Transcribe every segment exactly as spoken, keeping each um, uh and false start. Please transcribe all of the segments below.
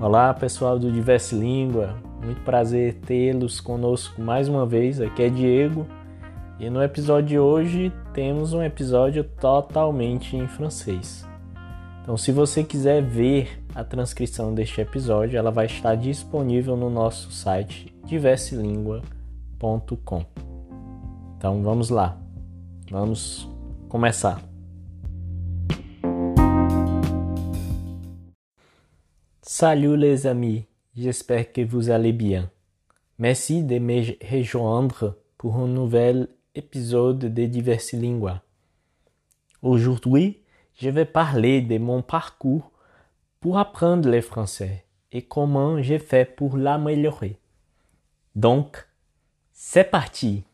Olá pessoal do Diverse Língua, muito prazer tê-los conosco mais uma vez, aqui é Diego e no episódio de hoje temos um episódio totalmente em francês. Então se você quiser ver a transcrição deste episódio, ela vai estar disponível no nosso site diverse língua ponto com. Então vamos lá, vamos começar. Salut les amis, j'espère que vous allez bien. Merci de me rejoindre pour un nouvel épisode de Diverse Língua. Aujourd'hui, je vais parler de mon parcours pour apprendre le français et comment j'ai fait pour l'améliorer. Donc, c'est parti!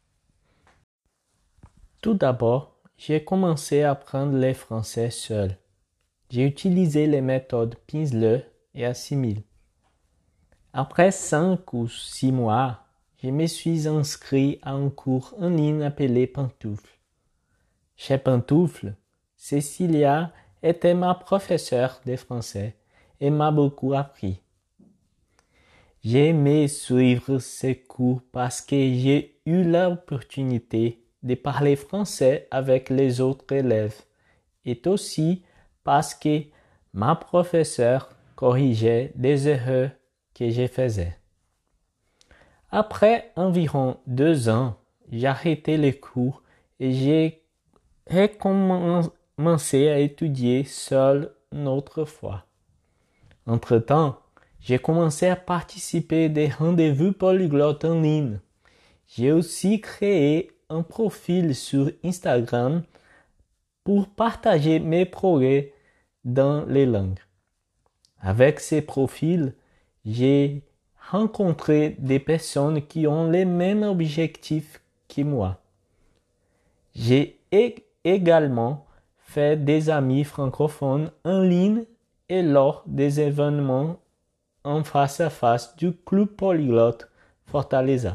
Tout d'abord, j'ai commencé à apprendre le français seul. J'ai utilisé les méthodes Pimsleur et Assimil. Après cinq ou six mois, je me suis inscrit à un cours en ligne appelé Pantoufle. Chez Pantoufle, Cécilia était ma professeure de français et m'a beaucoup appris. J'ai aimé suivre ces cours parce que j'ai eu l'opportunité de parler français avec les autres élèves et aussi parce que ma professeure corrigeait des erreurs que je faisais. Après environ deux ans, j'ai arrêté les cours et j'ai recommencé à étudier seul une autre fois. Entre-temps, j'ai commencé à participer à des rendez-vous polyglottes en ligne. J'ai aussi créé un profil sur Instagram pour partager mes progrès dans les langues. Avec ces profils, j'ai rencontré des personnes qui ont les mêmes objectifs que moi. J'ai également fait des amis francophones en ligne et lors des événements en face à face du Club Polyglotte Fortaleza.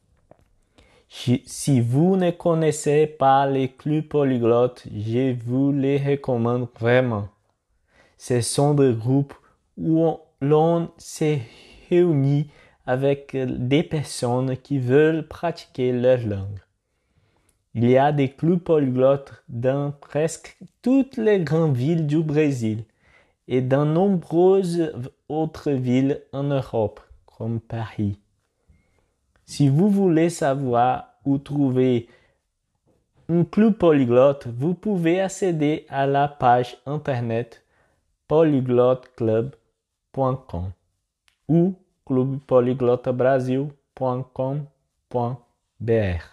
Si vous ne connaissez pas les clubs polyglottes, je vous les recommande vraiment. Ce sont des groupes où l'on se réunit avec des personnes qui veulent pratiquer leur langue. Il y a des clubs polyglottes dans presque toutes les grandes villes du Brésil et dans nombreuses autres villes en Europe, comme Paris. Si vous voulez savoir où trouver un club polyglotte, vous pouvez accéder à la page internet polyglotte club point com ou club polyglotte brasil point com point b r.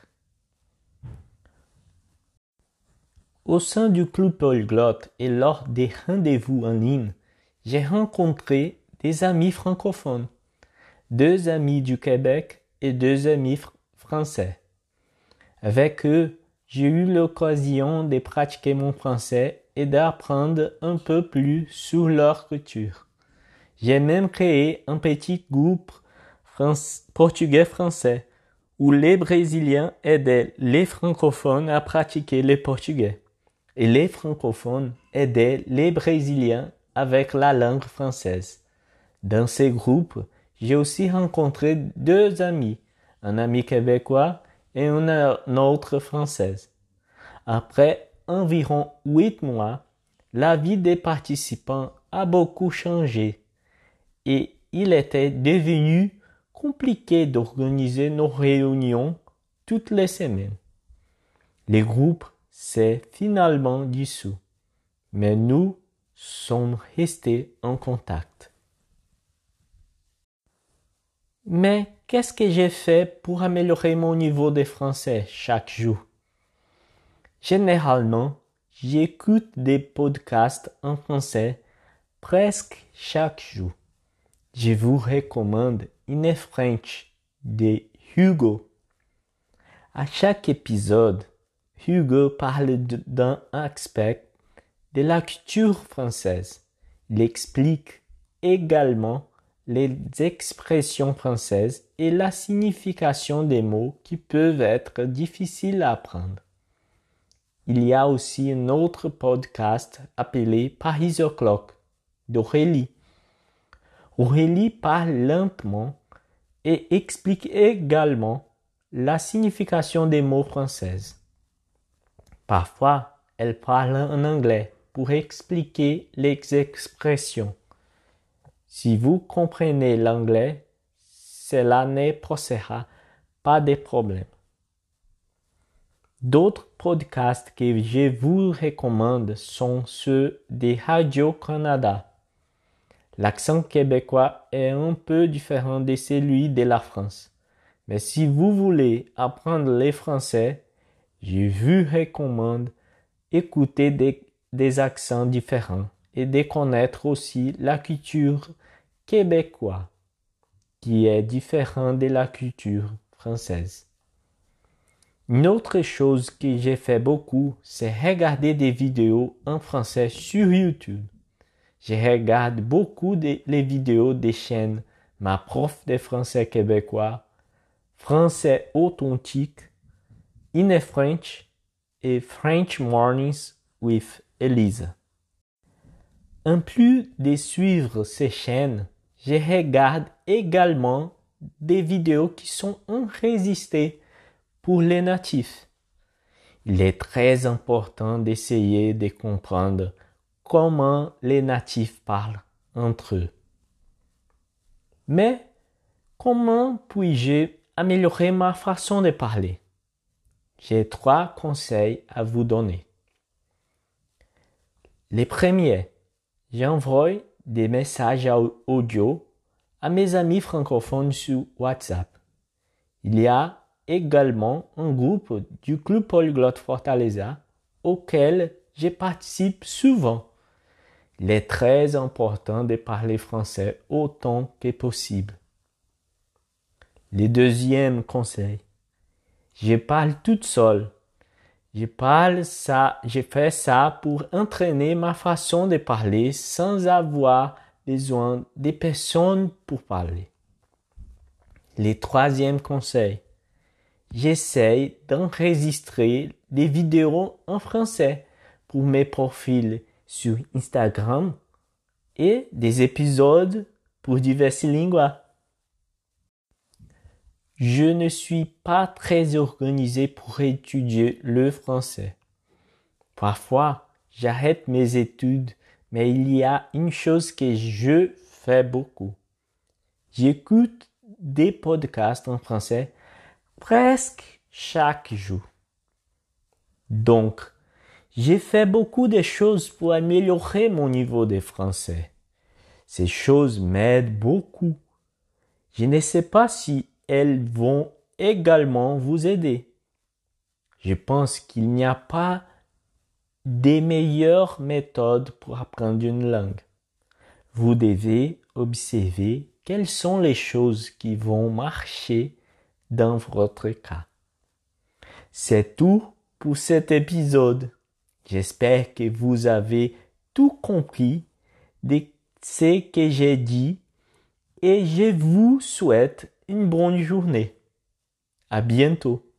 Au sein du club polyglotte et lors des rendez-vous en ligne, j'ai rencontré des amis francophones, deux amis du Québec et deux amis fr- français. Avec eux, j'ai eu l'occasion de pratiquer mon français et d'apprendre un peu plus sur leur culture. J'ai même créé un petit groupe France- portugais-français où les Brésiliens aidaient les francophones à pratiquer le portugais et les francophones aidaient les Brésiliens avec la langue française. Dans ces groupes, j'ai aussi rencontré deux amis, un ami québécois et une autre française. Après environ huit mois, la vie des participants a beaucoup changé et il était devenu compliqué d'organiser nos réunions toutes les semaines. Le groupe s'est finalement dissous, mais nous sommes restés en contact. Mais qu'est-ce que j'ai fait pour améliorer mon niveau de français chaque jour? Généralement, j'écoute des podcasts en français presque chaque jour. Je vous recommande In French de Hugo. À chaque épisode, Hugo parle d'un aspect de la culture française. Il explique également les expressions françaises et la signification des mots qui peuvent être difficiles à apprendre. Il y a aussi un autre podcast appelé Paris O'Clock d'Aurélie. Aurélie parle lentement et explique également la signification des mots français. Parfois, elle parle en anglais pour expliquer les expressions. Si vous comprenez l'anglais, cela ne posera pas de problème. D'autres podcasts que je vous recommande sont ceux de Radio-Canada. L'accent québécois est un peu différent de celui de la France. Mais si vous voulez apprendre le français, je vous recommande d'écouter des, des accents différents et de connaître aussi la culture québécoise, qui est différente de la culture française. Une autre chose que j'ai fait beaucoup, c'est regarder des vidéos en français sur YouTube. Je regarde beaucoup de, les vidéos des chaînes Ma prof de français québécois, Français authentique, In French et French Mornings with Elisa. En plus de suivre ces chaînes, je regarde également des vidéos qui sont enregistrées pour les natifs. Il est très important d'essayer de comprendre comment les natifs parlent entre eux. Mais comment puis-je améliorer ma façon de parler? J'ai trois conseils à vous donner. Les premiers, j'envoie des messages audio à mes amis francophones sur WhatsApp. Il y a également un groupe du Club Polyglotte Fortaleza auquel je participe souvent. Il est très important de parler français autant que possible. Le deuxième conseil, je parle toute seule. Je parle ça, je fais ça pour entraîner ma façon de parler sans avoir besoin de personnes pour parler. Le troisième conseil, j'essaie d'enregistrer des vidéos en français pour mes profils sur Instagram et des épisodes pour diverses langues. Je ne suis pas très organisé pour étudier le français. Parfois, j'arrête mes études, mais il y a une chose que je fais beaucoup. J'écoute des podcasts en français presque chaque jour. Donc, j'ai fait beaucoup de choses pour améliorer mon niveau de français. Ces choses m'aident beaucoup. Je ne sais pas si elles vont également vous aider. Je pense qu'il n'y a pas de meilleure méthode pour apprendre une langue. Vous devez observer quelles sont les choses qui vont marcher dans votre cas. C'est tout pour cet épisode. J'espère que vous avez tout compris de ce que j'ai dit et je vous souhaite une bonne journée. À bientôt.